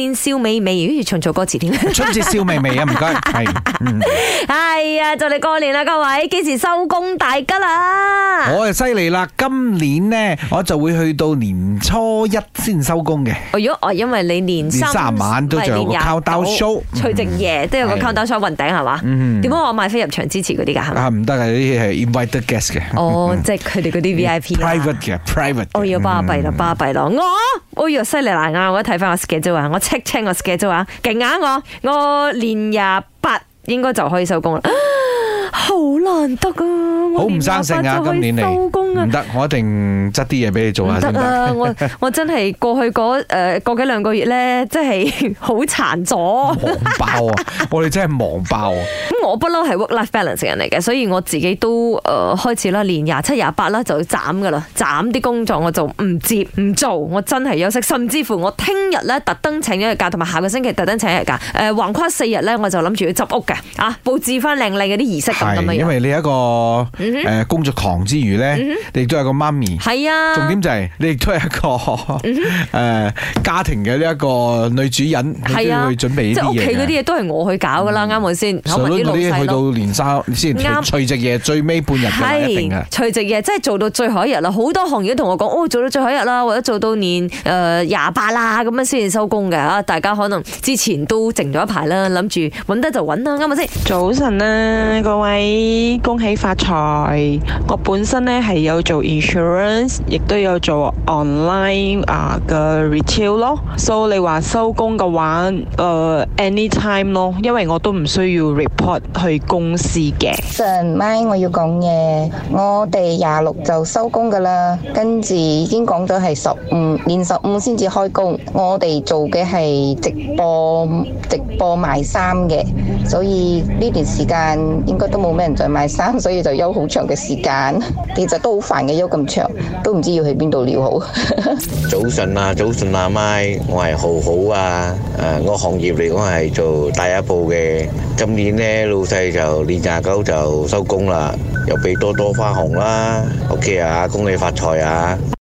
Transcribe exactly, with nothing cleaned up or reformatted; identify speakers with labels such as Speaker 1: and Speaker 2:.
Speaker 1: 年笑美美，好似唱錯歌詞添。
Speaker 2: 春節笑微微啊，唔該，係，
Speaker 1: 係啊，就嚟過年啦，各位，幾時收工大吉啦？
Speaker 2: 我就犀利啦，今年呢，我就會去到年初一先收工嘅。
Speaker 1: 如果我因為你年三
Speaker 2: 年卅晚都仲有個 countdown show，
Speaker 1: 除夕夜都有個 countdown show 雲頂係嘛？點解我買飛入場支持嗰啲㗎？係咪？
Speaker 2: 啊，唔得啊！呢啲係 invited guest 嘅。
Speaker 1: 哦，即係佢哋嗰啲 V I P。private
Speaker 2: 嘅 private，
Speaker 1: 我要巴閉啦，巴閉啦！我，我要犀利難啊！我睇翻我 schedule 啊，我 check check 我 schedule 啊，勁啊我！我年廿八應該就可以收工啦，好難得啊！
Speaker 2: 好唔生性啊！今年嚟唔得，我一定執啲嘢俾你做下先得。
Speaker 1: 啊！我我真係過去嗰誒個幾兩個月咧，真係好殘咗，
Speaker 2: 忙爆啊！我哋真係忙爆啊！
Speaker 1: 咁我不嬲係 work life balance 嘅人嚟嘅，所以我自己都誒開始啦，年廿七廿八啦就斬噶啦，斬啲工作我就唔接唔做，我真係休息，甚至乎我聽日咧特登請咗日假，同埋下個星期特登請日假，誒橫跨四日咧，我就諗住要執屋嘅，啊佈置翻靚靚嘅啲儀式咁咁樣。
Speaker 2: 因為你一個誒工作狂之餘咧，你亦都係個媽咪。
Speaker 1: 係啊。重
Speaker 2: 點就係你亦都係一個誒家庭嘅呢一個女主人，你都要去準備呢啲嘢。
Speaker 1: 即係屋企嗰啲嘢都係我去搞噶啦，啱唔啱先？可能啲老細去
Speaker 2: 到年三先除夕夜最尾半日嘅一定嘅。
Speaker 1: 除夕夜即係做到最後一日啦，好多行業都同我講，哦做到最後一日啦，或者做到年誒廿八啦，咁樣先至收工嘅啊！大家可能之前都靜咗一排啦，諗住揾得就揾啦，啱唔啱先？
Speaker 3: 早晨啊，各位恭喜發財！我本身咧係有做 insurance， 亦都有做 online 啊嘅 retail 咯。所以你話收工嘅話，誒、呃、anytime 咯，因為我都唔需要 report 去公司嘅。
Speaker 4: 晨咪我要講嘢，我哋廿六就收工噶啦，跟住已經講咗係十五，年十五先至開工。我哋做嘅係直播，直播賣衫嘅，所以呢段時間應該都冇咩人再買衫，所以就休好長嘅時間。其實都好煩嘅，休咁長，都唔知要去邊度撩好。
Speaker 5: 早晨啊，早晨啊，咪我係浩浩啊，誒，我行業嚟講係做第一部嘅。今年呢，老細就年廿九就收工啦，又俾多多花紅啦。OK 啊，恭喜發財啊！